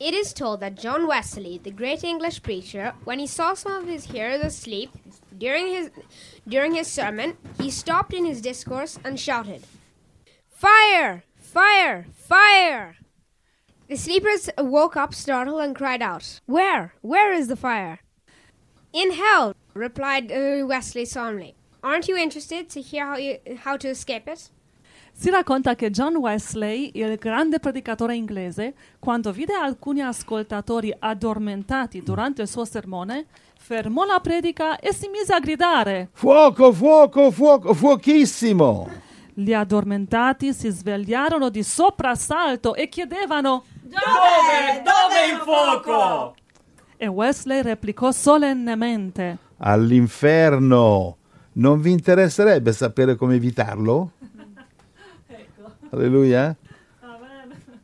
It is told that John Wesley, the great English preacher, when he saw some of his hearers asleep during his sermon, he stopped in his discourse and shouted, "Fire! Fire! Fire!" The sleepers woke up startled and cried out, "Where? Where is the fire?" "In hell," replied Wesley solemnly. "Aren't you interested to hear how to escape it?" Si racconta che John Wesley, il grande predicatore inglese, quando vide alcuni ascoltatori addormentati durante il suo sermone, fermò la predica e si mise a gridare: "Fuoco, fuoco, fuoco, fuochissimo!" Gli addormentati si svegliarono di soprassalto e chiedevano: Dove il fuoco? E Wesley replicò solennemente: "All'inferno! Non vi interesserebbe sapere come evitarlo?" Alleluia.